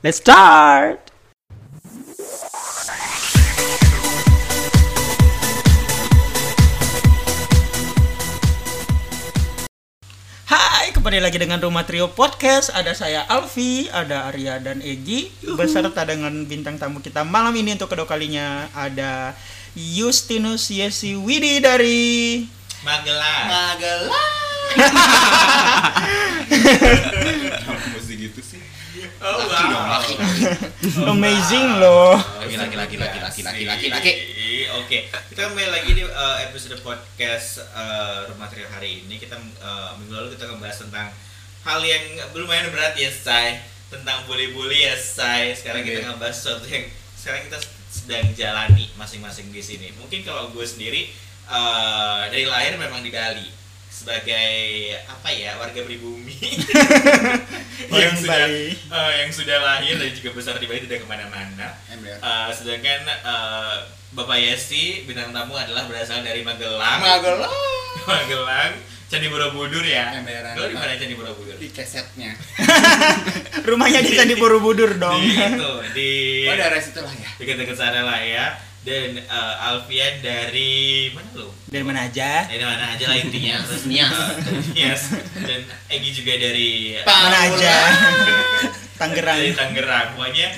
Let's start. Hai, kembali lagi dengan Rumah Trio Podcast. Ada saya Alfi, ada Arya dan Egi, beserta dengan bintang tamu kita malam ini untuk kedua kalinya ada Justinus Yesi Widi dari Magelang. Mesti gitu sih. Oh wow. Amazing loh. Laki. Oke, kita kembali lagi di episode podcast Rumah Trio hari ini. Kita minggu lalu kita ngebahas tentang hal yang lumayan berat ya, Say. Tentang bully-bully ya, Say. Sekarang kita ngebahas sesuatu yang sekarang kita sedang jalani masing-masing di sini. Mungkin kalau gue sendiri dari lahir memang di Bali sebagai apa ya, warga pribumi yang sudah lahir dan juga besar di Bali, tidak kemana-mana. Sedangkan Bapak Yesi bintang tamu adalah berasal dari Magelang, Candi Borobudur ya. Lo di mana Candi Borobudur? Di kesetnya. Rumahnya di Candi Borobudur dong. Di daerah situ lah ya. dekat-dekat sana lah ya. Dan Alfian dari mana lo? Dari mana aja? Dari mana aja lah intinya. Terus Nias. Dan Egi juga dari Mana aja? Tangerang. Dari Tangerang. Pokoknya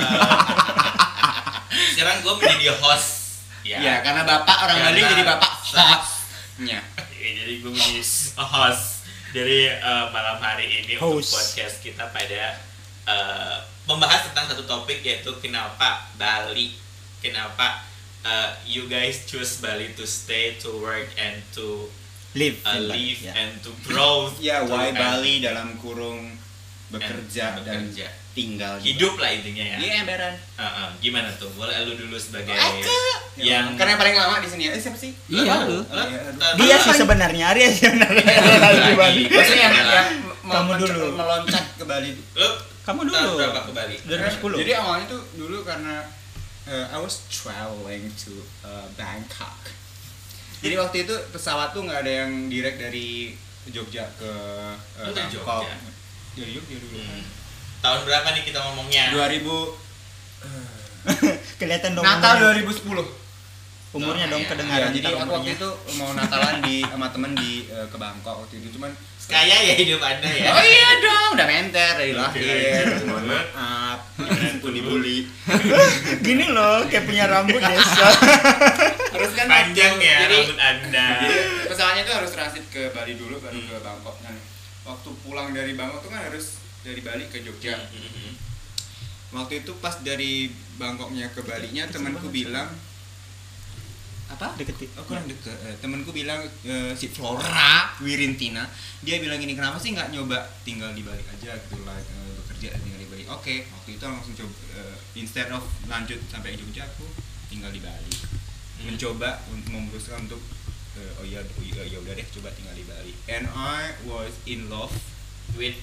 sekarang gue menjadi host. Ya, karena bapak orang Bali jadi bapak hostnya. Jadi gue menjadi host dari malam hari ini untuk podcast kita pada membahas tentang satu topik, yaitu kenapa Bali, kenapa you guys choose Bali to stay, to work, and to live and to grow. Ya, why Bali dalam kurung bekerja dan tinggal hidup lah intinya ya. Iya, emberan. Gimana tuh? Boleh lu dulu sebagai yang karena yang paling lama di sini. Siapa sih? Iya, lu. Dia sih sebenarnya, Arya sih sebenarnya. Maksudnya yang kamu dulu meloncat ke Bali. Kamu dulu berapa ke Bali? 2010. Jadi awalnya tuh dulu karena I was traveling to Bangkok. Jadi waktu itu pesawat tuh nggak ada yang direct dari Jogja ke Bangkok. Dari Jogja dulu. Tahun berapa nih kita ngomongnya? 2000. Kelihatan dong. Natal 2010. Umurnya dong kedengaran. Jadi aku waktu itu mau Natalan sama temen ke Bangkok waktu itu, cuman kaya ya hidup Anda ya. Oh iya dong, udah menter dari lahir. Mohon maaf, dibully. Gini loh, kayak punya rambut desa. Terus kan panjang ya jadi, rambut Anda. Jadi pesawatnya tuh harus transit ke Bali dulu baru ke Bangkok. Nah, waktu pulang dari Bangkok tuh kan harus dari Bali ke Jogja. Waktu itu pas dari Bangkoknya ke Balinya temanku bilang apa? Deket. Oh, kurang deket. Temanku bilang si Flora Wirintina, dia bilang gini, kenapa sih nggak nyoba tinggal di Bali aja gitu lah, bekerja tinggal di Bali. Oke, waktu itu langsung coba, instead of lanjut sampai Jogja, aku tinggal di Bali. Mencoba memutuskan untuk ya udah deh, coba tinggal di Bali. And I was in love with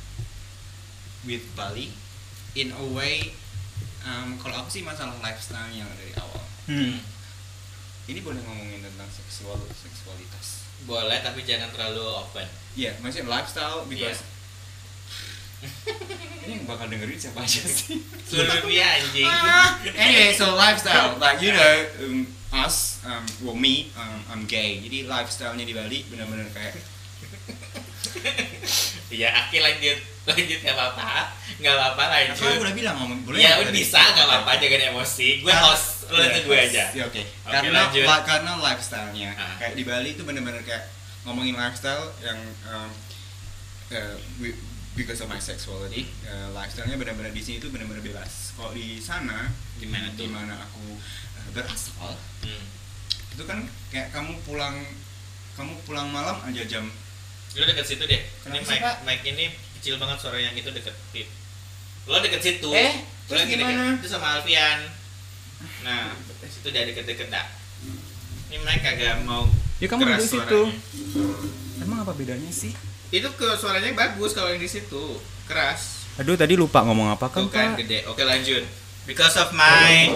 Bali in a way. Kalau aku sih masalah lifestyle yang dari awal. Ini boleh ngomongin tentang seksualitas. Boleh, tapi jangan terlalu open. Iya, maksudnya lifestyle because ini yang bakal dengerin siapa aja sih? Seluruh dunia anjing. Anyway, so lifestyle, like you know, us, me, I'm gay. Jadi lifestyle-nya di Bali benar-benar kayak. Ya, Aki lanjut nggak apa-apa lanjut. Aku udah bilang ngomong boleh. Ya udah bisa, nggak apa-apa, jangan emosi. Gue host, lo lanjut gue aja. Ya, oke. Lanjut. Karena lifestyle-nya kayak di Bali itu benar-benar kayak ngomongin lifestyle yang because of my sexuality, lifestyle-nya benar-benar di sini itu benar-benar bebas. Kalau di sana, di mana aku berasal, itu kan kayak kamu pulang malam aja jam. Lo deket situ deh. Ini Kenapa, mic ini kecil banget, suara yang itu deket. Lo deket situ. Terus gimana? Itu sama Alfian. Nah, itu udah deket-deket dah. Ini mic kagak mau. Ya kamu keras di situ. Suaranya. Emang apa bedanya sih? Itu suaranya bagus kalau yang di situ. Keras. Aduh, tadi lupa ngomong apa kan, Bukan Pak? gede. Oke, lanjut. Because of my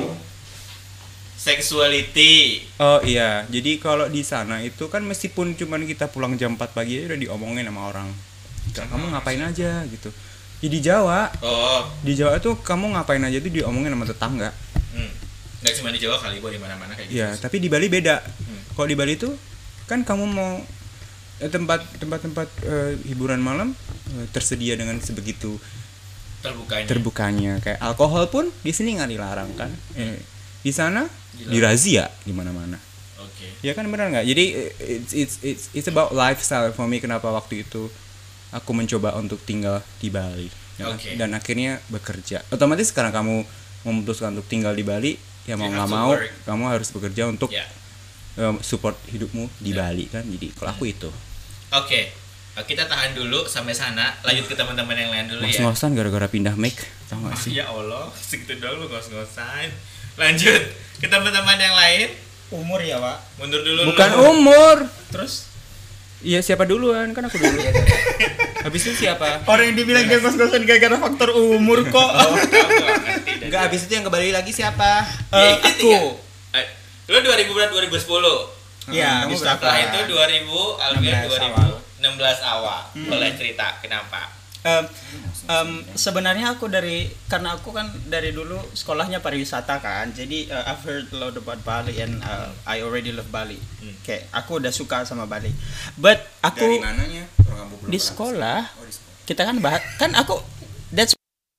sexuality. Oh iya, jadi kalau di sana itu kan meskipun cuman kita pulang jam 4 pagi aja udah diomongin sama orang. Kamu ngapain aja gitu. di Jawa. Oh. Di Jawa tuh kamu ngapain aja tuh diomongin sama tetangga. Nggak cuma di Jawa kali, di mana-mana kayak gitu. Iya, tapi di Bali beda. Kalau di Bali tuh kan kamu mau tempat-tempat hiburan malam tersedia dengan sebegitu terbukanya. Kayak alkohol pun di sini nggak dilarang kan. Di sana dirazia di mana-mana. Oke. Ya kan benar nggak? Jadi it's about lifestyle for me. Kenapa waktu itu aku mencoba untuk tinggal di Bali ya kan? Dan akhirnya bekerja. Otomatis sekarang kamu memutuskan untuk tinggal di Bali, ya mau nggak mau kamu harus bekerja untuk support hidupmu di Bali kan. Jadi kalau aku itu. Oke. Kita tahan dulu sampai sana, lanjut ke teman-teman yang lain dulu ya. Ngos-ngosan gara-gara pindah mic, tau gak sih? Ya Allah, segitu dong lu ngos-ngosan. Lanjut ke teman-teman yang lain. Umur ya, Pak. Mundur dulu. Bukan umur. Terus Iya, siapa duluan? Kan aku dulu. Habis itu siapa? orang yang dibilang dia ngos-ngosan gara-gara faktor umur kok. Enggak, habis itu yang kembali lagi siapa? Aku. Lu 2000 berarti 2010. Ya, kamu bisa. Setelah itu 2000, Alfian 16 2016 awal. Boleh cerita kenapa? Sebenarnya aku karena aku kan dari dulu sekolahnya pariwisata kan, jadi I've heard a lot about Bali and I already love Bali. Kayak aku udah suka sama Bali. But aku Dari mananya? di sekolah, Oh, di sekolah. kita kan kan aku that's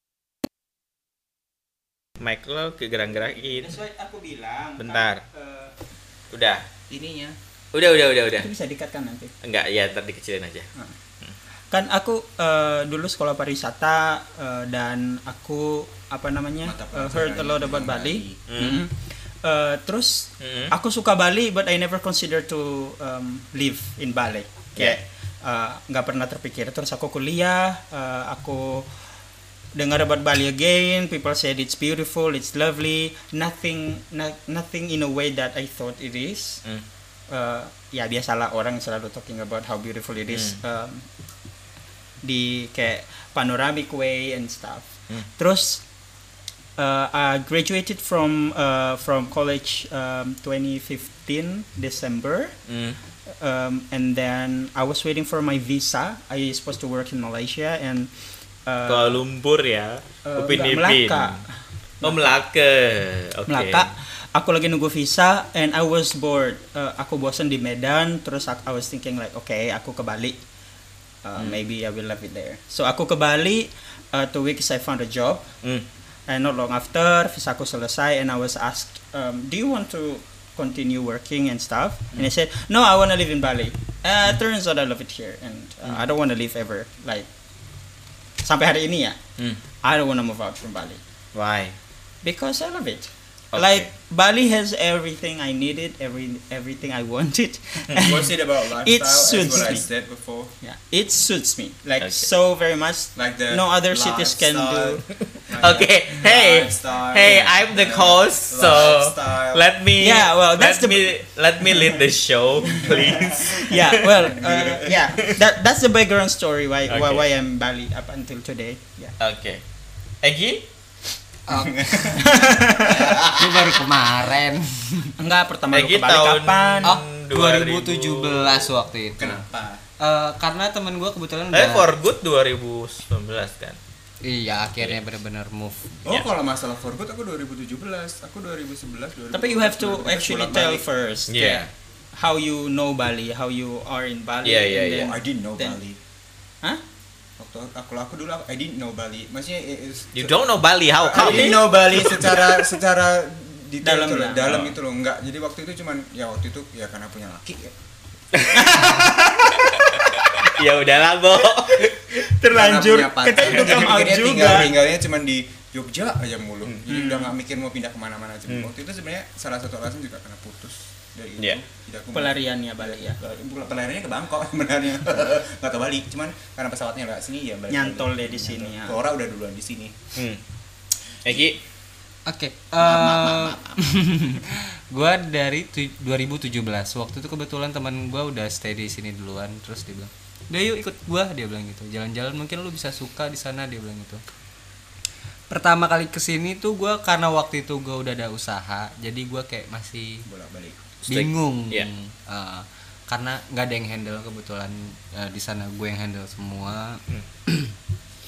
Mic lo kegerak-gerakin. why aku bilang. Bentar. Udah. Ininya. Udah. Itu bisa dikatkan nanti. Enggak, ya ntar dikecilin aja. Kan aku dulu sekolah pariwisata dan aku heard a lot about Bali. Terus aku suka Bali, but I never consider to live in Bali. Kayak nggak pernah terpikir. Terus aku kuliah, aku dengar about Bali again. People said it's beautiful, it's lovely. Nothing in a way that I thought it is. Ya biasalah orang selalu talking about how beautiful it is. Di kayak panoramic way and stuff. Terus I graduated from college 2015 December. And then I was waiting for my visa. I supposed to work in Malaysia and Kuala Lumpur ya. Upin Ipin. Melaka. Oh, Melaka. Oke. Melaka. Aku lagi nunggu visa and I was bored. Aku bosan di Medan. Terus I was thinking like, okay, aku ke Bali. Maybe I will love it there. So aku ke Bali. 2 weeks I found a job. And not long after visa aku selesai and I was asked, do you want to continue working and stuff? And I said, no, I want to live in Bali. Turns out I love it here and I don't want to leave ever. Like sampai hari ini ya. I don't want to move out from Bali. Why? Because I love it. Okay. Like Bali has everything I needed, everything I wanted. What's it about lifestyle? It As suits what I me. said before. Yeah, it suits me like Okay. so very much. Like the No other cities can do. Okay, hey, I'm the host, so let me. Yeah, well, that's let me lead the show, please. Yeah, well, yeah, that's the background story why I'm Bali up until today. Yeah. Oke. Egi? Ini baru kemarin. Enggak, pertama lu Egi ke Bali tahun kapan? 2017 waktu itu. Kenapa? Karena temen gue kebetulan For good 2019 kan. Iya, akhirnya benar-benar move. Oh, kalau masalah for good aku 2017, aku 2011, 2012. Tapi you have to actually tell first. Yeah. How you know Bali, how you are in Bali. Yeah, and yeah, then- Oh, I didn't know then- Bali. Hah? Waktu aku dulu I didn't know Bali. Maksudnya You don't know Bali, how I come? didn't know Bali secara detail Dalam gitu loh, lah. dalam itu loh, enggak. Jadi waktu itu cuman ya waktu itu ya karena punya laki ya. Ya udahlah, Bo. Terlanjur. Karena punya Kita itu come out Mikirnya juga. tinggalnya cuman di Jogja aja mulu. Jadi udah nggak mikir mau pindah kemana-mana aja. Waktu itu sebenarnya salah satu alasan juga karena putus dari itu. Yeah. Jadi aku Pelariannya Bali ya. pelariannya ke Bangkok sebenarnya. Nggak ke Bali, cuman karena pesawatnya lewat sini ya balik Nyantol lagi. deh di sini ya. Flora udah duluan di sini. Egi? Oke. Gua dari 2017. Waktu itu kebetulan teman gua udah stay di sini duluan, terus dia bilang, "Udah yuk ikut gua," dia bilang gitu. "Jalan-jalan mungkin lu bisa suka di sana," dia bilang gitu. Pertama kali kesini tuh gua karena waktu itu gua udah ada usaha, jadi gua kayak masih Bolak-balik. bingung. Iya. Karena nggak ada yang handle kebetulan di sana gue yang handle semua.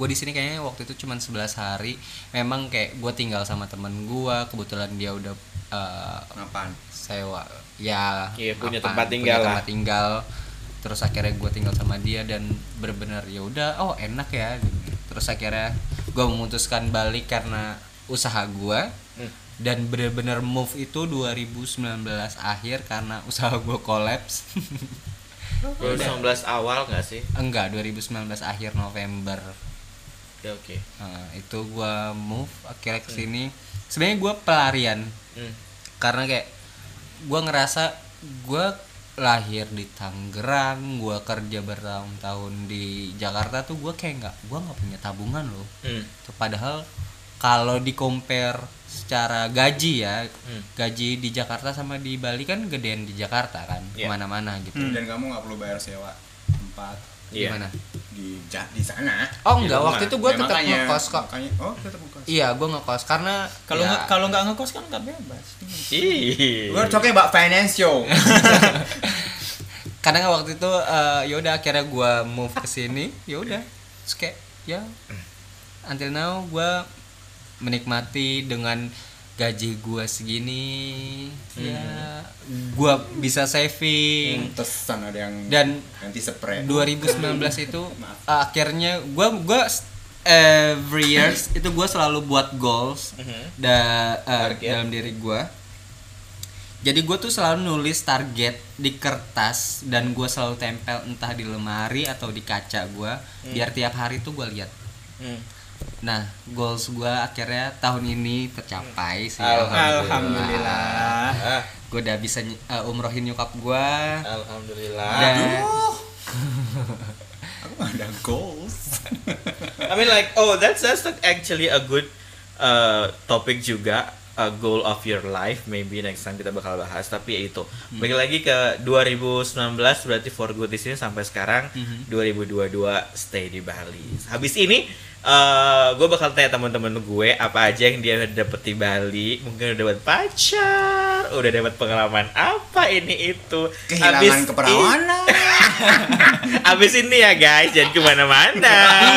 gue di sini kayaknya waktu itu cuma 11 hari. Memang kayak gue tinggal sama temen gue, kebetulan dia udah Apaan? sewa ya, Iya, punya apa, tempat tinggal lah. tempat tinggal. Terus akhirnya gue tinggal sama dia dan benar-benar ya udah, oh enak ya. Terus akhirnya gue memutuskan balik karena usaha gue. Dan benar-benar move itu 2019 akhir karena usaha gue kolaps. 2019 awal nggak sih? Enggak, 2019 akhir November. Ya, oke. Nah, itu gue move akhirnya ke sini. Sebenarnya gue pelarian. Karena kayak gue ngerasa gue lahir di Tangerang, gue kerja bertahun-tahun di Jakarta tuh gue kayak gue nggak punya tabungan loh. Padahal kalau di compare secara gaji ya, gaji di Jakarta sama di Bali kan gedean di Jakarta kan, kemana-mana gitu. Dan kamu nggak perlu bayar sewa tempat Gimana? di sana. Oh Di enggak, rumah. waktu itu gue Ya, tetap makanya- ngekos kok. Oh, tetap ngekos. Iya, gue ngekos karena Kalau nggak ngekos kan nggak bebas. Ih. We're talking about financial. kadang waktu itu ya udah akhirnya gue move ke sini, ya udah. Terus kayak ya until now gue menikmati dengan gaji gue segini, ya gue bisa saving. Tesan ada yang Dan nanti spray. 2019 itu akhirnya gue every years itu gue selalu buat goals dalam diri gue. Jadi gue tuh selalu nulis target di kertas dan gue selalu tempel entah di lemari atau di kaca gue, biar tiap hari tuh gue lihat. Nah, goals gue akhirnya tahun ini tercapai sih. Alhamdulillah. Gue udah bisa umrohin nyokap gue. Alhamdulillah. Dan Aku nggak ada goals. I mean like, that's actually a good topic juga, a goal of your life. Maybe next time kita bakal bahas. Tapi ya itu, balik lagi ke 2019 berarti for good di sini sampai sekarang. 2022 stay di Bali. Habis ini gue bakal tanya teman-teman gue apa aja yang dia udah dapet di Bali. Mungkin udah dapat pacar, udah dapat pengalaman apa ini itu. Kehilangan keperawanan. Abis ini ya guys, jangan kemana-mana.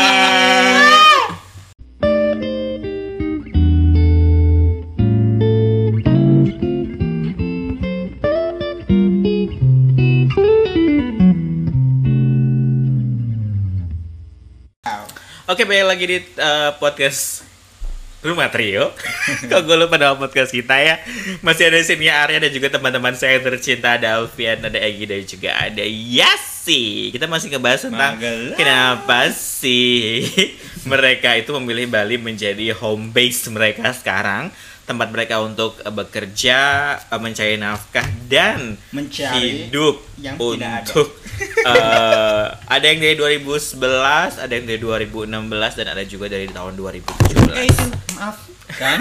Oke, balik lagi di podcast Rumah Trio. Kok gue lupa nama podcast kita ya. Masih ada sini Arya dan juga teman-teman saya yang tercinta. Ada Alfian, ada Egy, dan juga ada Yasi. Kita masih ngebahas tentang kenapa sih mereka itu memilih Bali menjadi home base mereka sekarang, tempat mereka untuk bekerja, mencari nafkah dan Mencari hidup yang tidak ada. untuk ada yang dari 2011, ada yang dari 2016, dan ada juga dari tahun 2017. Maaf kan?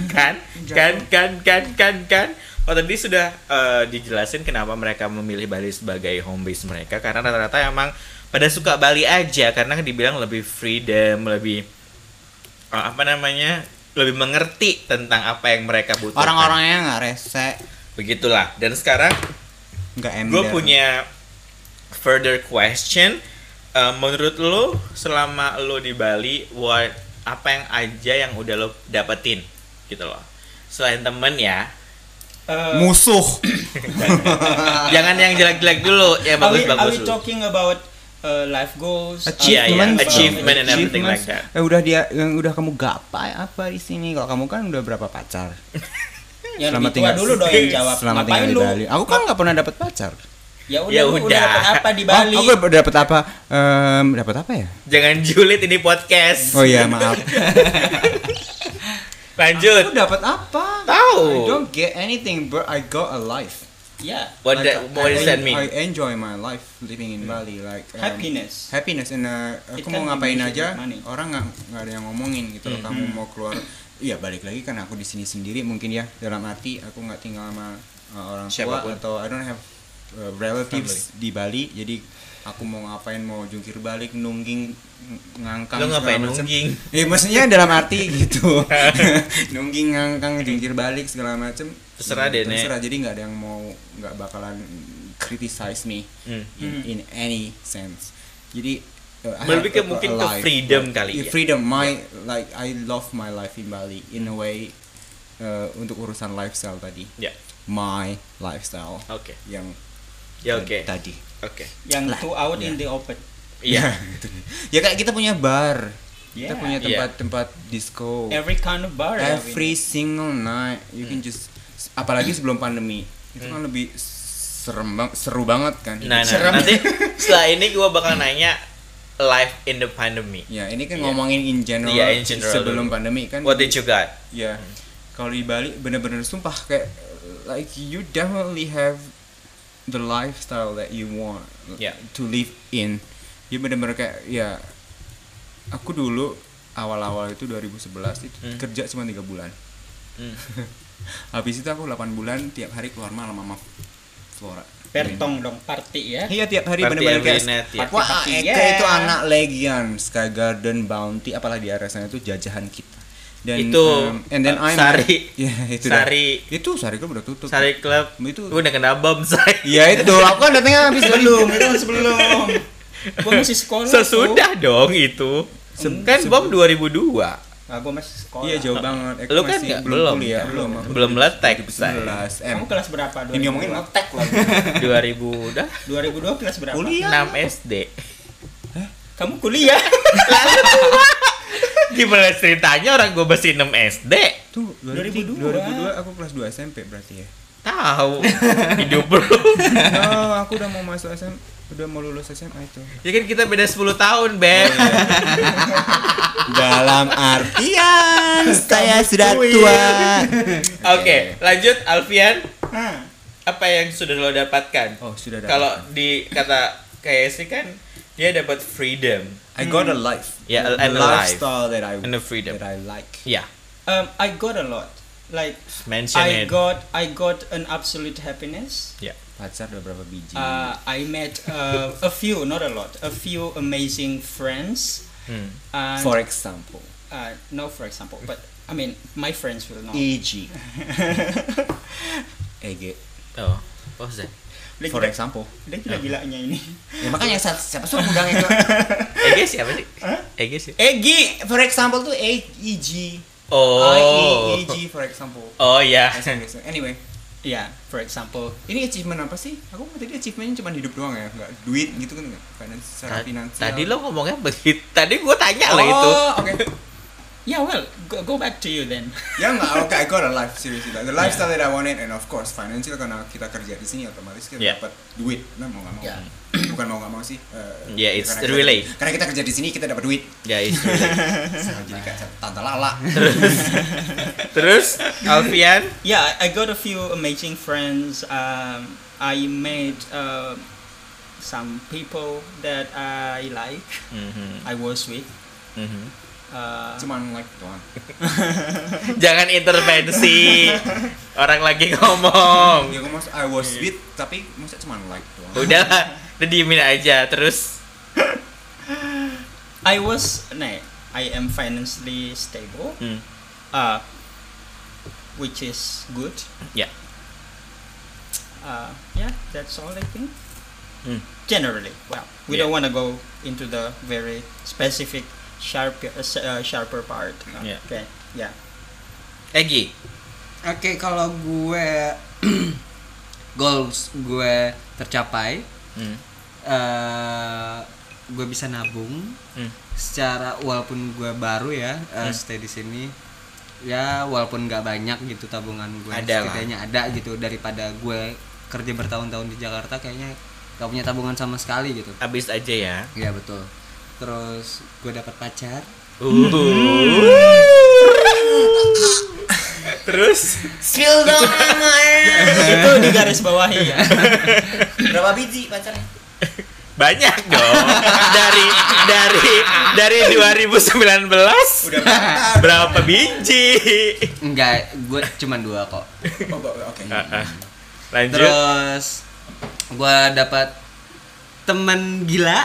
kan. Oh, tadi sudah dijelasin kenapa mereka memilih Bali sebagai home base mereka, karena rata-rata emang pada suka Bali aja karena dibilang lebih freedom, lebih lebih mengerti tentang apa yang mereka butuhkan. Orang-orangnya nggak rese, Begitulah. Dan sekarang nggak ember. gue punya further question. Menurut lo selama lo di Bali, apa yang aja yang udah lo dapetin gitu loh, selain temen ya? Musuh. Jangan yang jelek-jelek dulu, yang Are bagus-bagus we dulu. talking about life goals, Achievement, achievement and everything like that. Udah dia yang udah kamu gapai apa di sini? Kalau kamu kan udah berapa pacar? Yang Selama lebih tua tinggal- dulu dong yang jawab. Selama tinggal Ngapain di lu? Bali. Aku kan nggak pernah dapat pacar. Ya Ya udah, lu udah. dapat apa di Bali? Oh, aku dapat apa? Dapat apa ya? Jangan julid ini podcast. Oh iya, maaf. Lanjut. Aku dapat apa? Tahu. I don't get anything, but I got a life. Ya, What does that mean? I enjoy my life living in Bali, like happiness. happiness and It aku can mau be ngapain measured aja with money. orang nggak ada yang ngomongin gitu loh. Kamu mau keluar, iya balik lagi kan aku di sini sendiri mungkin ya, dalam arti aku nggak tinggal sama orang tua Siapapun. atau I don't have relatives di Bali, jadi aku mau ngapain, mau jungkir balik, nungging, ngangkang Lo ngapain segala macam. nungging? Maksudnya dalam arti gitu. Nungging, ngangkang, jungkir balik segala macam. Terserah deh, Nek. Terserah, jadi nggak ada yang mau, nggak bakalan criticize me in any sense. Jadi Lebih ke mungkin ke freedom kali ya. Freedom, like I love my life in Bali in a way. Untuk urusan lifestyle tadi. Ya. My lifestyle. Oke. Yang Ya oke. tadi. Oke. Yang to out in the open. Iya. Ya kayak kita punya bar. Kita Yeah. punya tempat-tempat disco. Every kind of bar. Every single night you can just, apalagi sebelum pandemi itu kan lebih seru banget kan. Nah, nanti setelah ini gue bakal nanya life in the pandemic. Ya ini kan ngomongin in general, in general sebelum dulu. pandemi kan. What did you got? Ya kalau di Bali bener-bener sumpah kayak like you definitely have the lifestyle that you want to live in. Ya bener-bener kayak ya aku dulu awal-awal itu 2011 itu kerja cuma 3 bulan. Habis itu aku 8 bulan tiap hari keluar malam sama Flora. Pertong dong, party ya. Iya tiap hari Party bener-bener every kayak night, ya. wah Party, Eka yeah. itu anak Legion, Sky Garden, Bounty, apalagi di area sana itu jajahan kita. Dan Itu, and then I'm Sari. ya itu Sari. itu Sari Club udah tutup. Sari Club. Itu Udah kena bom say. ya itu aku kan datangnya habis Sebelum, itu sebelum. Gua masih sekolah. Sesudah dong itu. Kan bom 2002. Nah, gua masih sekolah. Iya jauh banget. Aku Lu kan masih nggak- belum belum. kuliah, belum. Aku Belum letek, 2019. Kamu kelas berapa? Ini ngomongin ngetek lagi. 2000 udah 2002 kelas berapa? Kuliah. 6 SD. Kamu kuliah? Gimana ceritanya orang gue masih 6 SD? Tuh 2002 aku kelas 2 SMP berarti ya. Tahu. Hidup lu. No, aku udah mau masuk SMA, udah mau lulus SMA itu. Ya kan kita beda 10 tahun, Beb. Dalam artian saya sudah tua. Oke, lanjut Alfian. Hah. Apa yang sudah lo dapatkan? Oh, sudah dapat. Kalau di kata KSC kan dia dapat freedom. I got a life. Yeah, The and a life. lifestyle that I And a freedom. that I like. Ya, I got a lot. Like mention I it. got an absolute happiness. Ya. Pacar udah berapa biji? I met a few, not a lot, a few amazing friends. And, For example, no, for example, but I mean, my friends will know. EG. EG. Oh, what was that? Udah For gila- example. udah gila-gilanya ini. Ya makanya siapa suruh undang itu? Ege siapa sih? Ege sih. EG. For example tuh EG. Oh. EG for example. Oh ya. Anyway, Yeah, for example. ini achievement apa sih? Aku tadi achievementnya cuma hidup doang ya, nggak duit gitu kan nggak? Secara finansial. Tadi lo ngomongnya begitu. Tadi gue tanya lo itu. Oh, oke. Yeah, well, go back to you then. Ya nggak, oke, I got a life seriously. The lifestyle that I wanted, and of course financial karena kita kerja di sini otomatis kita Yeah. dapat duit, nah mau nggak mau. Yeah. Bukan mau nggak mau sih. Yeah, it's karena relay. Karena kita kerja di sini kita dapat duit. Ya itu. Sama jadi kayak tante lala. Terus Alfian. Yeah, I got a few amazing friends. I met some people that I like. I was with. Cuman like doang. Jangan intervensi. Orang lagi ngomong. Ya aku I was with tapi masa cuman like doang. Udah diemin aja terus. I am financially stable. Which is good. Ya. Yeah, that's all I think. Hmm. Generally, well, we Yeah. don't want to go into the very specific sharper part. Yeah. Okay, yeah. Egi. Oke, kalau gue goals gue tercapai, gue bisa nabung. Secara walaupun gue baru ya stay di sini, ya walaupun nggak banyak gitu tabungan gue, Ada lah. setidaknya ada gitu daripada gue kerja bertahun-tahun di Jakarta kayaknya gak punya tabungan sama sekali gitu. Habis aja ya. Iya betul. Terus gue dapat pacar. Terus Spill dong Itu di garis bawahi ya. Berapa biji pacarnya? banyak dong. dari 2019 Udah berapa? berapa biji? Enggak, gue cuma 2 kok. Oke. Lanjut. Terus gue dapat teman gila.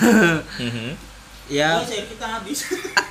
Ya, Kita habis.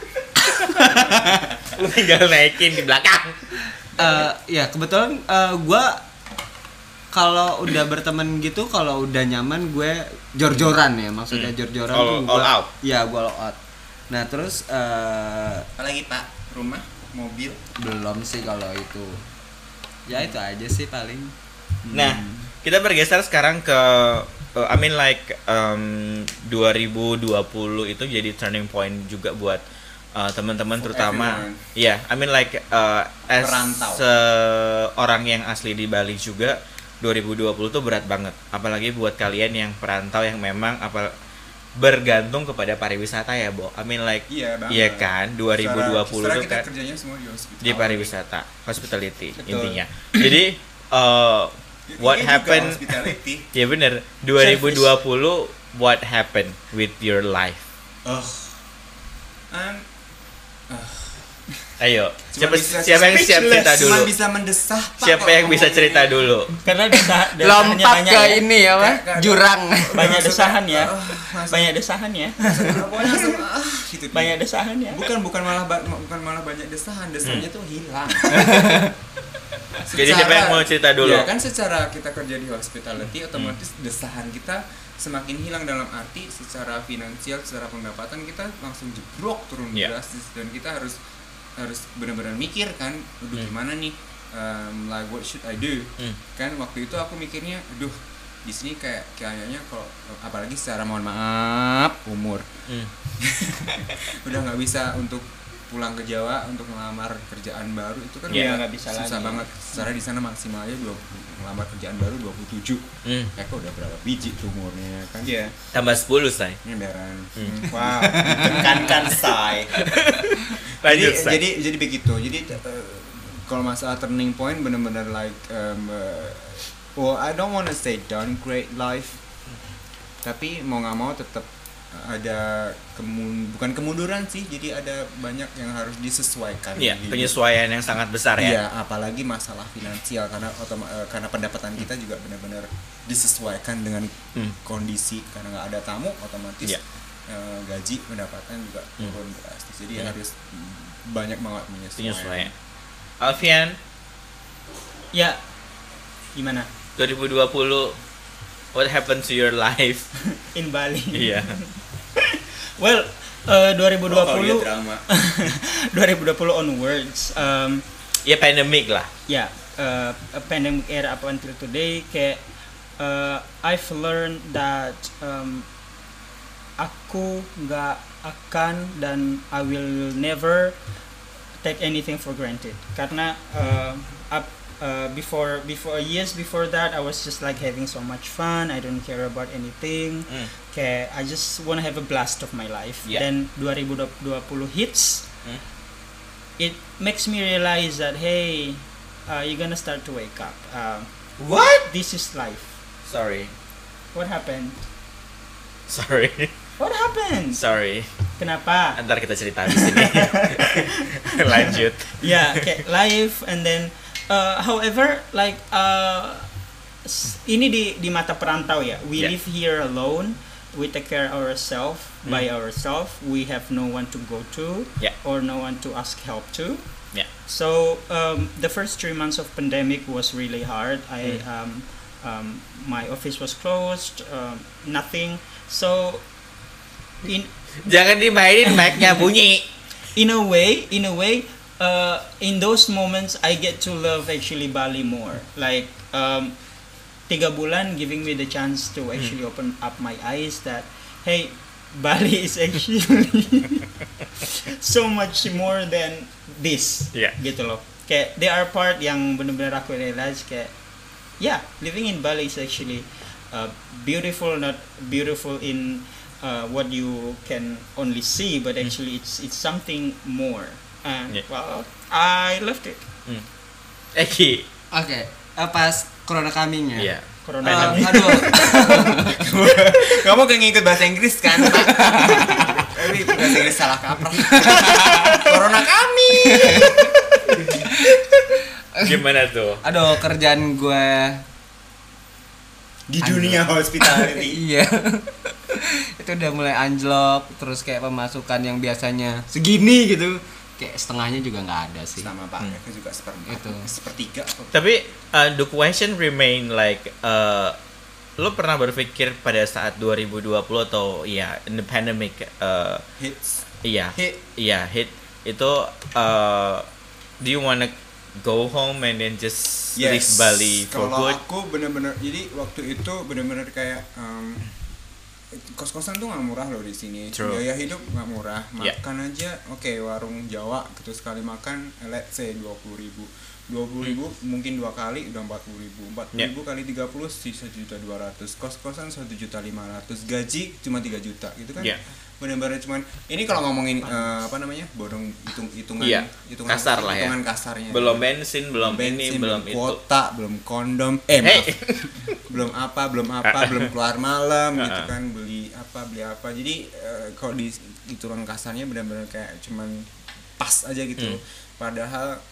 Lu tinggal naikin di belakang. ya kebetulan gue kalau udah berteman gitu, kalau udah nyaman gue jor-joran ya, maksudnya jor-joran tuh all out. Iya, gue all out. Nah terus Apalagi Pak, rumah, mobil. belum sih kalau itu, ya itu aja sih paling. Nah, kita bergeser sekarang ke I mean like 2020 itu jadi turning point juga buat teman-teman For terutama everyone. ya, I mean like as Perantau. orang yang asli di Bali juga 2020 tuh berat banget, apalagi buat kalian yang perantau yang memang bergantung kepada pariwisata ya, Bo. I mean like Iya banget. iya kan 2020 Secara tuh kita kan kerjanya semua di hospital. di pariwisata, hospitality Betul. intinya. Jadi what Ini juga happened hospitality. ya bener 2020 what happened with your life? Ayo, Cuma bisa siapa yang siap cerita Cuma dulu? bisa mendesah Pak, Siapa kalau yang bisa ngomong cerita ini. dulu? Karena desahnya Lompat banyak ke ya. ini ya, Pak, Kayak- jurang. Banyak desahan ya. langsung- Banyak desahan ya. Pokoknya langsung gitu. Banyak desahan ya. Bukan malah banyak desahannya tuh hilang. Jadi siapa yang mau cerita dulu? Ya kan secara kita kerja di hospitality otomatis desahan kita semakin hilang, dalam arti secara finansial, secara pendapatan kita langsung jeblok turun Iya. drastis, dan kita harus benar-benar mikir kan, aduh gimana nih, like what should I do? Kan waktu itu aku mikirnya, aduh di sini kayaknya kalau apalagi secara mohon maaf umur udah nggak bisa untuk pulang ke Jawa untuk melamar kerjaan baru, itu kan Iya, udah nggak bisa susah lagi. banget. Secara di sana maksimalnya melamar kerjaan baru 27. Kok udah berapa biji tuh umurnya kan? Iya. Tambah 10 say. Nyenderan. Wow. Tekankan say. Lanjut say. Jadi begitu. Jadi kalau masalah turning point benar-benar like well, I don't wanna say downgrade life, tapi mau nggak mau tetap ada bukan kemunduran sih, jadi ada banyak yang harus disesuaikan. Iya, di hidup. penyesuaian yang sangat besar ya. Iya, apalagi masalah finansial, karena pendapatan kita juga benar-benar disesuaikan dengan kondisi, karena nggak ada tamu otomatis Iya. gaji pendapatan juga turun drastis, jadi harus banyak banget Penyesuaian. menyesuaikan. Alfian, Ya. Gimana? 2020 what happened to your life? In Bali. Iya. Well, 2020 drama. 2020 onwards, Ya pandemic lah. ya pandemic era up until today, kayak I've learned that aku nggak akan dan I will never take anything for granted, karena before years before that I was just like having so much fun, I don't care about anything, kayak I just wanna have a blast of my life. Yeah. Then 2020 hits, it makes me realize that hey, you're gonna start to wake up. What? This is life. Sorry. What happened? Sorry. What happened? Sorry. Kenapa? Ntar kita cerita di sini. Lanjut. Yeah, kayak life, and then however like ini di mata perantau ya, we Yeah. live here alone, we take care ourselves by ourselves, we have no one to go to, Yeah. or no one to ask help to. Yeah. So the first 3 months of pandemic was really hard. My office was closed, nothing. So Jangan dimainin, mic-nya bunyi. in a way, in those moments I get to love actually Bali more. Like 3 bulan giving me the chance to actually open up my eyes that hey, Bali is actually so much more than this. Yeah. Gitu loh. Kayak there are part yang benar-benar aku realize kayak living in Bali is actually beautiful, not beautiful in what you can only see, but actually it's something more. And Yeah. well, I loved it. Eki. Oke, pas corona coming ya. Iya. Corona Aduh, Kamu gak ngikut bahasa Inggris kan? Tapi bahasa Inggris salah kaprah. Corona kami. Gimana tuh? aduh kerjaan gue Di dunia hospitality. iya itu udah mulai anjlok, terus kayak pemasukan yang biasanya segini gitu kayak setengahnya juga nggak ada sih. Sama Pak Eka juga sepertiga. Tapi the question remain like lo pernah berpikir pada saat 2020 atau ya in the pandemic Hits. hit itu do you wanna go home and then just leave Bali for kalau good? aku benar-benar jadi waktu itu benar-benar kayak kos-kosan tuh nggak murah loh di sini. True. Biaya hidup nggak murah. Yeah. Makan aja, warung Jawa gitu sekali makan, let's say 20.000 mungkin 2 kali udah 40.000 kali 30 sisa 1.200.000, kos-kosan 1.500.000, gaji cuma 3 juta gitu kan. Yeah. Benar-benar cuman ini kalau ngomongin bodong hitungan kasar lah ya. hitungan kasarnya. Belum bensin, belum ini, belum itu. Kuota, belum kondom, belum apa, belum keluar malam gitu kan, beli apa. Jadi kalau di hitungan kasarnya benar-benar kayak cuman pas aja gitu. Padahal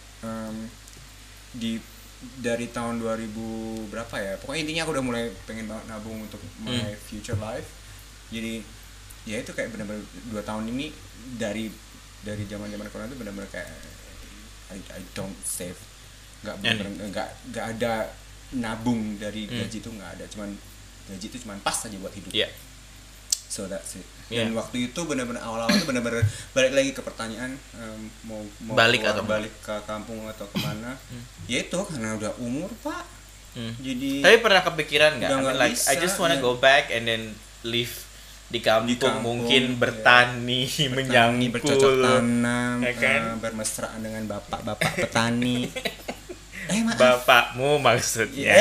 dari tahun 2000 berapa ya, pokoknya intinya aku udah mulai pengen banget nabung untuk my future life. Jadi ya itu kayak benar-benar 2 tahun ini dari zaman corona itu benar-benar kayak I don't save, nggak ada nabung dari gaji itu, nggak ada, cuman gaji itu cuman pas aja buat hidup. So that's it. Dan waktu itu benar-benar awal-awal itu benar-benar balik lagi ke pertanyaan mau balik ke kampung atau kemana. Ya itu karena udah umur Pak. Jadi Tapi pernah kepikiran nggak? I mean, like bisa, I just wanna go back and then live di kampung mungkin bertani, menyangkul, bercocok tanam, ya kan? bermesraan dengan bapak-bapak petani. Bapakmu maksudnya.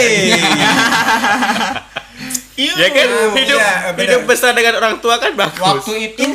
Ya kan hidup besar dengan orang tua kan bagus. Waktu itu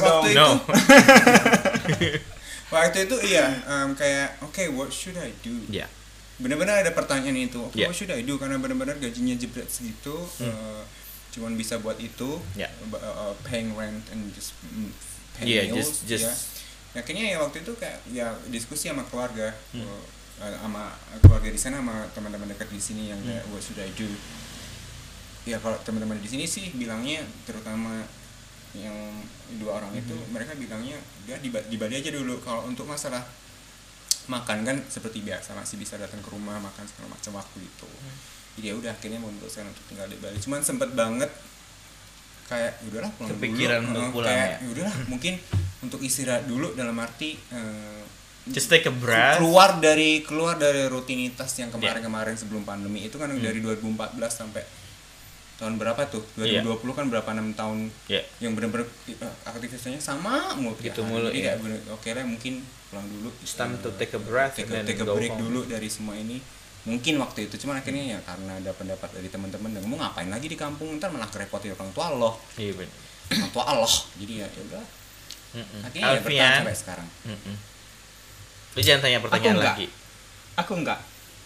kayak what should I do? Benar-benar ada pertanyaan itu. What should I do? Karena benar-benar gajinya jebret segitu. Cuman bisa buat itu, paying rent and just paying meals, Akhirnya waktu itu kayak diskusi sama keluarga, sama keluarga di sana, sama teman-teman dekat di sini yang kayak what should I do? Ya kalau teman-teman di sini sih bilangnya, terutama yang 2 orang itu, mereka bilangnya udah di Bali aja dulu. Kalau untuk masalah makan kan seperti biasa, masih bisa datang ke rumah makan segala macam waktu itu. Jadi ya udah akhirnya memutuskan untuk tinggal di Bali. Cuman sempet banget kayak udahlah pulang kepikiran dulu. untuk pulang kayak udahlah mungkin untuk istirahat dulu, dalam arti just take a breath. Keluar dari rutinitas yang kemarin sebelum pandemi itu kan dari 2014 sampai tahun berapa tuh? 2020 kan berapa 6 tahun yang benar-benar aktivitasnya sama mulu. Gitu mulu. Jadi kayak oke lah mungkin pulang dulu. It's time to take a breath, take a break dulu dari semua ini. Mungkin waktu itu, cuman akhirnya ya karena ada pendapat dari teman-teman, dan mau ngapain lagi di kampung, ntar malah kerepotin orang tua Allah. Iya benar. Orang tua Allah. Jadi ya udah. Akhirnya ya bertahan sampai sekarang. Lu jangan tanya pertanyaan lagi. Aku enggak.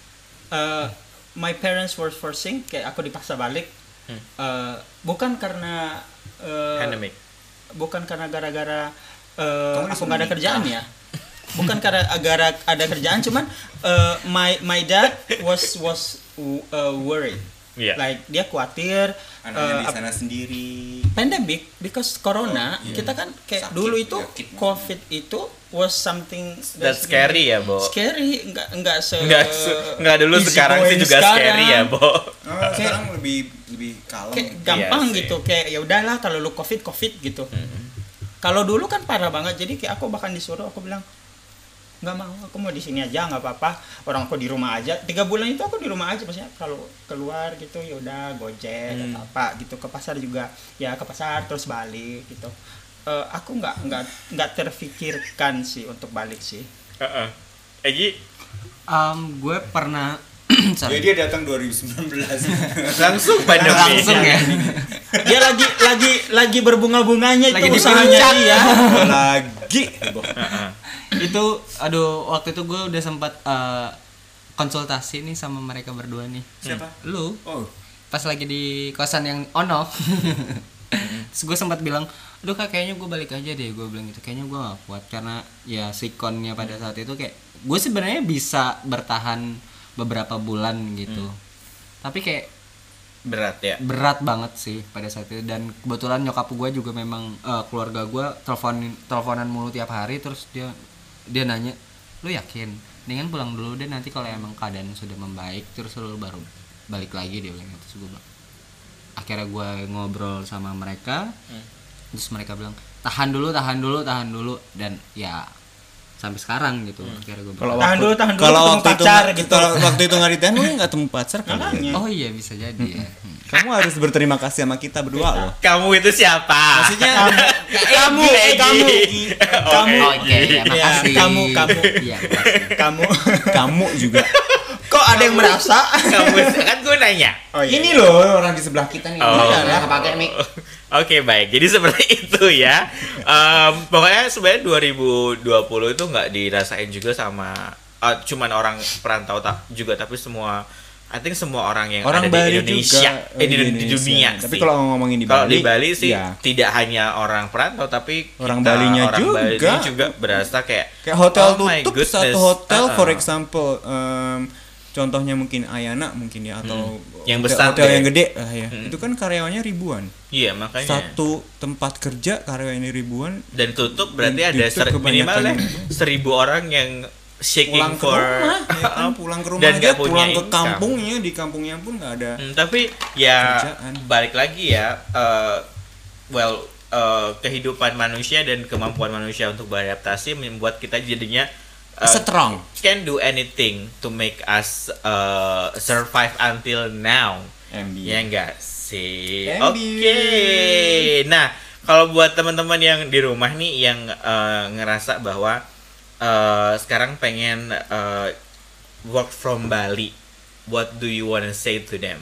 My parents were forcing, kayak aku dipaksa balik. Bukan karena pandemic. Bukan karena gara-gara aku nggak ada kerjaan ya. Bukan karena ada kerjaan, cuman my dad was worried. Like dia khawatir anaknya di sana sendiri. Pandemic because corona, kita kan kayak sakit, dulu itu COVID itu was something that's scary ya, Bo. Scary, enggak dulu, sekarang sih juga scary ya, Bo. Sekarang lebih kalem. Kayak gampang gitu, kayak ya udahlah kalau lu COVID gitu. Kalau dulu kan parah banget, jadi kayak aku bahkan disuruh, aku bilang nggak mau, aku mau di sini aja, nggak apa-apa, orang aku di rumah aja. 3 bulan itu aku di rumah aja, maksudnya kalau keluar gitu ya udah Gojek atau apa gitu, ke pasar juga ya ke pasar terus balik gitu. Aku nggak terfikirkan sih untuk balik sih. Egi, gue pernah jadi dia datang 2019 langsung pandemi. Langsung ya. Dia lagi berbunga-bunganya itu usahanya dia. Lagi. Itu waktu itu gue udah sempat konsultasi nih sama mereka berdua nih. Siapa? Lu. Oh. Pas lagi di kosan yang Ono. Terus gue sempat bilang, aduh Kak, kayaknya gue balik aja deh. Gue bilang gitu, kayaknya gue gak kuat karena ya sikonnya pada saat itu kayak gue sebenarnya bisa bertahan beberapa bulan gitu. Tapi kayak berat banget sih pada saat itu. Dan kebetulan nyokap gue juga memang keluarga gue teleponan mulu tiap hari. Terus dia dia nanya, lu yakin dengan pulang dulu deh, nanti kalau emang keadaan sudah membaik terus lu baru balik lagi, dia bilang. Terus gue bilang, akhirnya gue ngobrol sama mereka, terus mereka bilang tahan dulu, dan ya sampai sekarang gitu. Akhirnya gue bilang, tahan dulu Kalau ketemu waktu itu pacar gitu. kalau waktu itu nggak ditahan, lu nggak temu pacar kan? Makanya. oh iya bisa jadi ya. Kamu harus berterima kasih sama kita berdua loh. Kamu itu siapa? Maksudnya kamu Oke, ya, makasih. kamu Iya, makasih. kamu juga. kok ada yang merasa Kamu kan gue nanya. oh, iya. Ini loh orang di sebelah kita nih. Oh. Udah kepake mic. Oke, baik. Jadi seperti itu ya. Pokoknya sebenarnya 2020 itu nggak dirasain juga sama cuman orang perantau juga, tapi semua, I think semua orang yang Orang ada Bali di Indonesia, juga, di Indonesia. dunia Tapi sih. kalau ngomongin di Kalau Bali, di Bali sih ya. tidak hanya orang perantau, tapi Orang Balinya orang juga. Balinya juga berasa kayak hotel oh my tutup goodness. satu hotel for example, contohnya mungkin Ayana mungkin ya, atau Yang besar hotel deh. yang gede ya. Itu kan karyawannya ribuan. Iya, makanya. Satu tempat kerja karyawannya ribuan. Dan tutup berarti Dan ada tutup minimalnya kebanyakan. 1.000 orang yang shaking Pulang ke for rumah, ya kan? Pulang ke rumah dan aja, nggak punya pulang ke income. kampungnya, di kampungnya pun nggak ada. Tapi ya Kerjaan. balik lagi ya, kehidupan manusia dan kemampuan manusia untuk beradaptasi membuat kita jadinya Strong. can do anything to make us survive until now. Ya enggak sih? MB. Oke. Nah, kalau buat teman-teman yang di rumah nih yang ngerasa bahwa sekarang pengen work from Bali, what do you wanna say to them?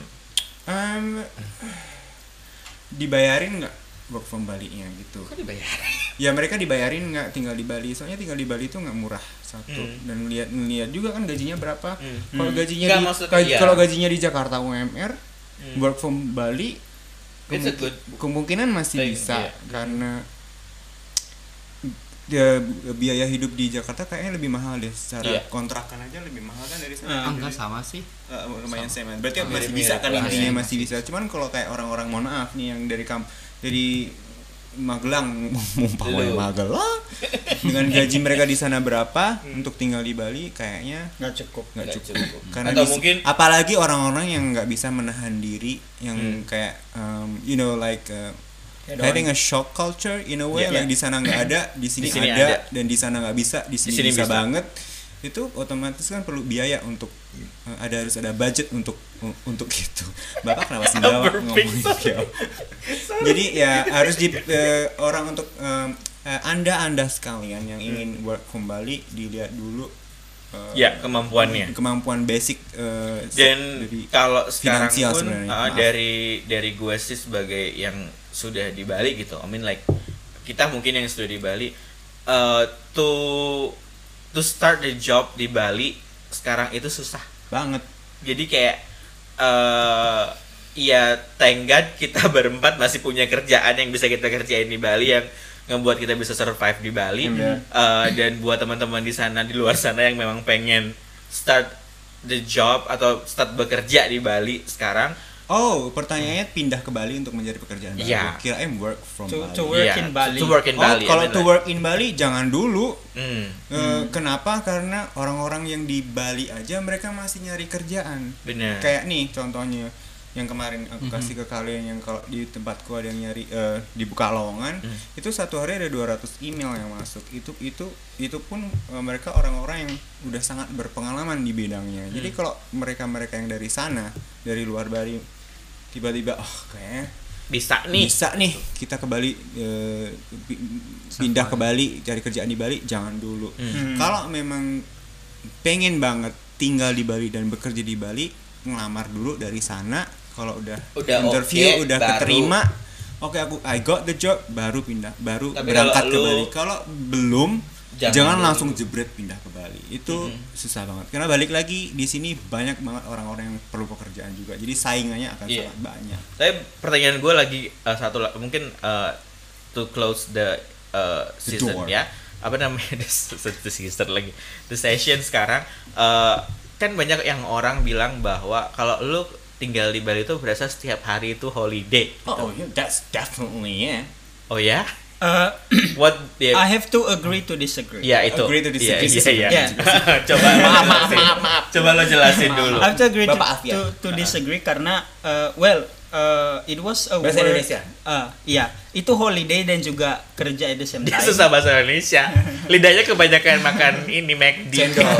Dibayarin nggak work from Bali-nya gitu? Kok dibayar? Ya mereka dibayarin nggak tinggal di Bali? Soalnya tinggal di Bali itu nggak murah satu. Dan ngeliat juga kan gajinya berapa. Kalau gajinya Nggak, di maksudnya, iya. kalau gajinya di Jakarta UMR, work from Bali It's a good kemungkinan masih thing, bisa iya. karena ya, biaya hidup di Jakarta kayaknya lebih mahal deh, secara Iya. kontrakan aja lebih mahal kan dari sana. Enggak sama sih. Lumayan sama. Berarti masih Masih bisa kan, mirip, intinya masih. masih bisa. Cuman kalau kayak orang-orang, mohon maaf nih, yang dari Magelang, Lu. Magelang dengan gaji mereka di sana berapa untuk tinggal di Bali, kayaknya nggak cukup nggak Nggak cukup. cukup. Karena Atau mungkin- apalagi orang-orang yang nggak bisa menahan diri, yang kayak having a shock culture in a way, Yeah. like di sana nggak ada, di sini sini ada, ada. dan di sana nggak bisa, di sini sini bisa bisa. banget. Itu otomatis kan perlu biaya untuk harus ada budget untuk itu. Bapak kenapa sendawa ngomongin gitu? Jadi ya harus orang untuk anda sekalian yang ingin work from Bali, dilihat dulu Ya, kemampuannya. kemampuan basic Dan dari kalau sekarang finansial pun sebenarnya. Maaf. dari gue sih sebagai yang sudah di Bali gitu, I mean like kita mungkin yang sudah di Bali, to start the job di Bali sekarang itu susah banget. jadi kayak ya thank God kita berempat masih punya kerjaan yang bisa kita kerjain di Bali, yang ngebuat kita bisa survive di Bali. Dan buat teman-teman di sana, di luar sana yang memang pengen start the job atau start bekerja di Bali sekarang, Oh, pertanyaannya pindah ke Bali untuk mencari pekerjaan baru. Iya. Kirain work from Bali. to work Iya, in Bali. to work in Bali, Kalau I mean to like- work in Bali jangan dulu. Hmm, Kenapa? Karena orang-orang yang di Bali aja mereka masih nyari kerjaan. bener. Kayak nih contohnya yang kemarin aku kasih ke kalian, yang kalau di tempatku ada yang nyari di Bukalongan, itu satu hari ada 200 email yang masuk. Itu pun mereka orang-orang yang udah sangat berpengalaman di bidangnya. Jadi kalau mereka yang dari sana, dari luar Bali, tiba-tiba kayaknya bisa nih kita ke Bali, pindah ke Bali, cari kerjaan di Bali, jangan dulu. Kalau memang pengen banget tinggal di Bali dan bekerja di Bali, ngelamar dulu dari sana. Kalau udah interview, oke, udah baru- keterima, oke, I got the job, baru pindah, baru Tapi berangkat kalau ke lu- Bali. Kalau belum, Jangan jangan dulu. langsung jebret pindah ke Bali. Itu susah banget. Karena balik lagi, di sini banyak banget orang-orang yang perlu pekerjaan juga. Jadi saingannya akan Iya. sangat banyak. Tapi pertanyaan gue lagi mungkin to close the season door. ya, apa namanya the season lagi, the session sekarang, kan banyak yang orang bilang bahwa kalau lu tinggal di Bali itu berasa setiap hari itu holiday. Oh, yeah, that's definitely yeah. Oh ya? What I have to agree to disagree. Ya itu. Agree to disagree. Iya. Yeah. Coba maaf. Coba lo jelasin dulu. I have to agree Bapak Afia. to disagree karena it was a Bahasa work. Indonesia? Iya, itu holiday dan juga kerja at the same Dia time. susah bahasa Indonesia. Lidahnya kebanyakan makan ini McD. Cendol.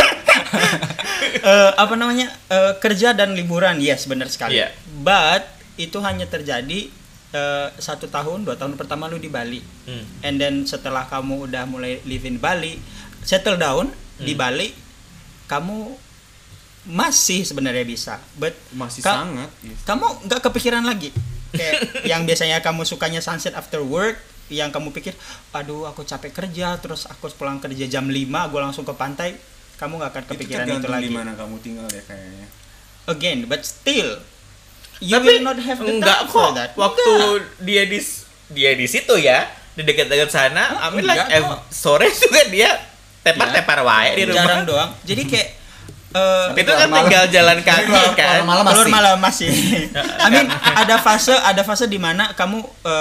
Kerja dan liburan, yes, benar sekali. Iya. But itu hanya terjadi 1 tahun, 2 tahun pertama lu di Bali. And then setelah kamu udah mulai live in Bali, settle down di Bali, kamu masih sebenarnya bisa, but Masih sangat. Yes. kamu nggak kepikiran lagi kayak yang biasanya kamu sukanya sunset after work, yang kamu pikir aduh aku capek kerja terus aku pulang kerja jam 5 gue langsung ke pantai, kamu nggak akan kepikiran itu lagi. Di mana kamu tinggal ya kayaknya. Again, but still you Tapi will not have the enggak time for kok. that. Waktu dia di situ ya, di dekat-dekat sana, I mean like enggak kok. sore juga dia tepar-tepar wae di rumah. Jarang doang, jadi kayak Itu kan tinggal jalan kaki kan. keluar malam masih. I mean, ada fase di mana kamu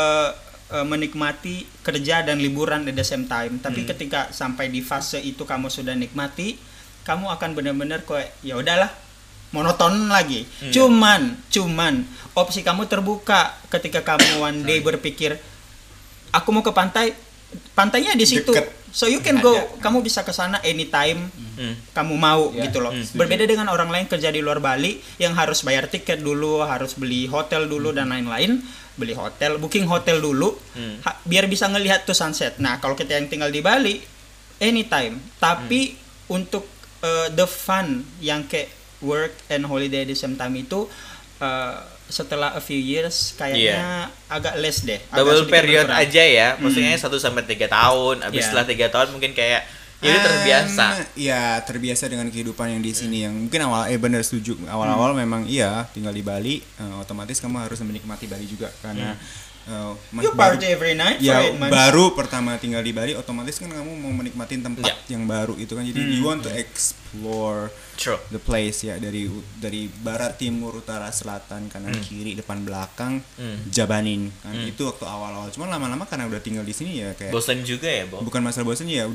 menikmati kerja dan liburan at the same time. Tapi ketika sampai di fase itu kamu sudah nikmati, kamu akan benar-benar kayak ya udahlah, monoton lagi. Cuman opsi kamu terbuka ketika kamu one day berpikir aku mau ke pantai, pantainya di situ. Deket. So you can go, kamu bisa ke sana anytime kamu mau gitu loh. Berbeda dengan orang lain kerja di luar Bali yang harus bayar tiket dulu, harus beli hotel dulu dan lain-lain. Beli hotel, booking hotel dulu biar bisa ngelihat tuh sunset. Nah, kalau kita yang tinggal di Bali anytime. Tapi untuk the fun yang kayak work and holiday at the same time itu setelah a few years kayaknya agak less deh. Double period berkurang. aja ya. Maksudnya 1 sampai 3 tahun. Habis setelah 3 tahun mungkin kayak ya udah terbiasa. Ya terbiasa dengan kehidupan yang di sini yang mungkin benar setuju. Awal-awal memang iya tinggal di Bali, otomatis kamu harus menikmati Bali juga karena You party every night ya for 8 months. baru pertama tinggal di Bali, otomatis kan kamu mau menikmati tempat yang baru itu kan, jadi you want to explore the place ya, dari barat, timur, utara, selatan, kanan, kiri, depan, belakang, jabanin kan. Itu waktu awal-awal. Cuman lama-lama karena udah tinggal di sini ya kayak Bosan juga ya, Bo? bukan masalah bosan ya,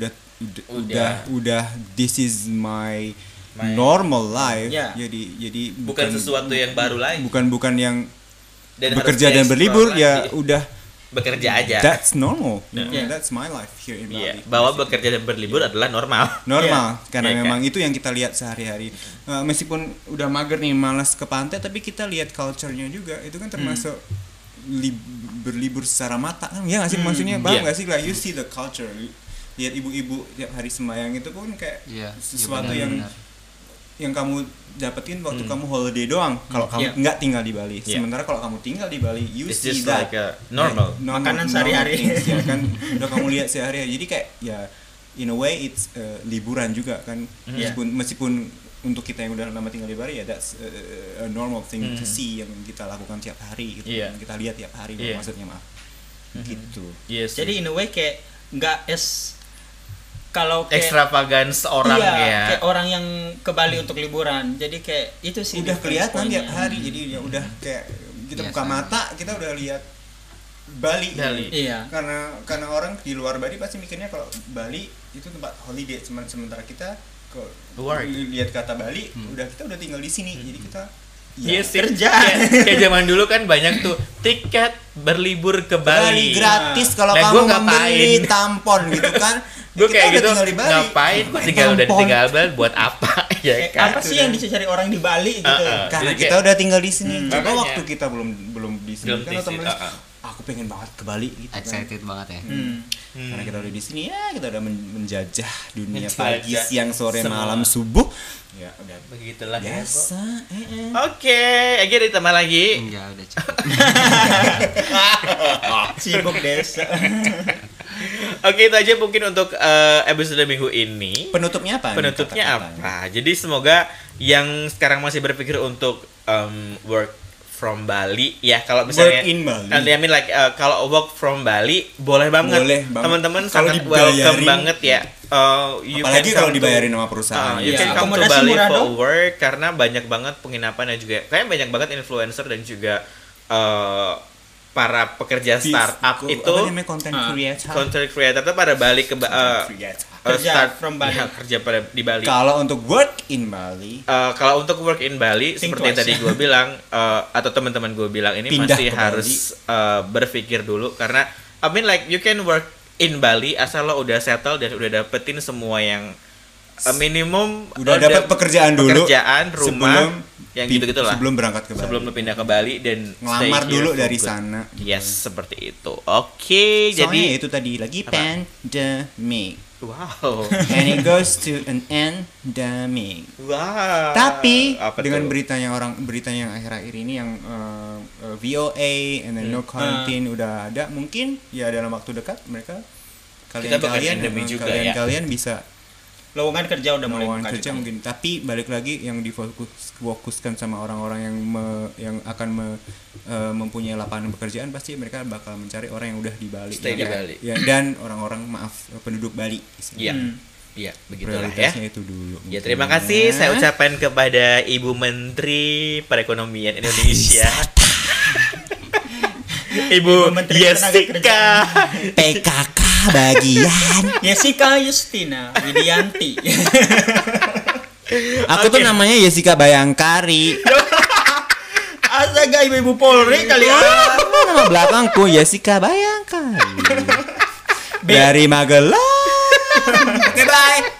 udah this is my normal life. Yeah. Jadi Bukan sesuatu yang baru lagi. bukan yang Dan bekerja harus dan berlibur explore ya lagi. udah Bekerja aja. that's normal. Yeah. That's my life here in Iya, Bali. bahwa bekerja dan berlibur adalah normal. Normal karena Iya, memang itu yang kita lihat sehari-hari. Meskipun udah mager nih, malas ke pantai, tapi kita lihat culture-nya juga. Itu kan termasuk berlibur secara mata kan. Ya nggak sih, maksudnya paham nggak sih, like you see the culture. Lihat ibu-ibu tiap hari sembahyang itu pun kayak sesuatu yang kamu dapetin waktu kamu holiday doang. Kalau kamu nggak tinggal di Bali. Sementara kalau kamu tinggal di Bali, you It's see just that like a normal. Makanan sehari-hari. Ya kan, udah kamu lihat sehari-hari. Jadi kayak ya in a way it's liburan juga kan. Meskipun untuk kita yang udah lama tinggal di Bali ya that's a normal thing to see, yang kita lakukan tiap hari gitu. Yang kita lihat tiap hari maksudnya, maaf. Gitu. Yes. Jadi in a way kayak nggak kalau kayak extravagance orang ya. kayak orang yang ke Bali untuk liburan. Jadi kayak itu sih Udah difference kelihatan point-nya. tiap hari. Jadi ya udah kayak kita buka mata, kita udah lihat Bali. Iya. Karena orang di luar Bali pasti mikirnya kalau Bali itu tempat holiday, sementara kita lihat kata Bali, kita udah tinggal di sini. Jadi kita Yes, kerja. Kayak zaman dulu kan banyak tuh tiket berlibur ke Bali. gratis kalau Nah, kamu gua ngapain? membeli tampon gitu kan. Gue Kita kayak udah gitu, tinggal di Bali. ngapain udah ditinggal Bali buat apa ya kan? Apa sih yang dicari orang di Bali gitu? Karena Jadi kita kayak- udah tinggal di sini. Coba makanya. waktu kita belum di sini Belum kan di sini, otomatis aku pengen banget ke Bali gitu kan. Excited banget ya. Karena kita udah di sini ya, kita udah menjajah dunia Menjajah pagi, siang, sore, semua. malam, subuh. Ya udah Begitulah ya, Bo. biasa. Oke, Egi ditambah lagi. Enggak, udah cukup. Sibuk desa. Oke, itu aja mungkin untuk episode minggu ini. Penutupnya apa? Penutupnya Kata-katanya? apa? Jadi semoga yang sekarang masih berpikir untuk work from Bali ya, kalau misalnya Work in Bali. I mean like kalau work from Bali boleh banget. Boleh banget. Teman-teman Kalau sangat dibayarin, welcome banget ya. You Apalagi can kalau come to- dibayarin sama perusahaan. You Ya, can come to akomodasi Bali murah for dong. work karena banyak banget penginapan dan juga kayak banyak banget influencer dan juga para pekerja startup itu apa namanya, content creator itu pada balik ke Kerja start from Bali. ya, kerja pada di Bali. Kalau untuk work in Bali, Kalau untuk work in Bali Think seperti yang twice. tadi gue bilang atau teman-teman gue bilang ini Pindah masih ke harus berpikir dulu karena I mean like you can work in Bali asal lo udah settle dan udah dapetin semua yang minimum udah dapat pekerjaan dulu, rumah yang gitu-gitu lah. sebelum berangkat ke Bali, Sebelum lo pindah ke Bali dan ngelamar stay here dulu for dari good. sana. Yes, seperti itu. Oke, Soalnya jadi itu tadi lagi Apa? pandemic wow. and it goes to an endemic. Wow. Tapi Apa dengan tuh? berita yang akhir-akhir ini yang VOA and then no quarantine udah ada, mungkin ya dalam waktu dekat mereka Kita bakal endemi juga ya. kalian bisa Lowongan kerja udah mulai lowongan buka kerja di- mungkin, tapi balik lagi yang difokuskan sama orang-orang yang akan mempunyai lapangan pekerjaan, pasti mereka bakal mencari orang yang udah di Bali. Stay di Bali. Ya, dan orang-orang penduduk Bali. Iya. Hmm. Iya, begitulah ya. Prioritasnya itu dulu. Ya, mungkin. terima kasih saya ucapkan kepada Ibu Menteri Perekonomian Indonesia. Ibu Menteri Jessica. PKK bagian. Jessica Justina Widianti. Aku tuh namanya Jessica Bayangkari. Astaga, ibu Polri kali ya. Nama belakangku Jessica Bayangkari. Dari Magelang. Oke, bye.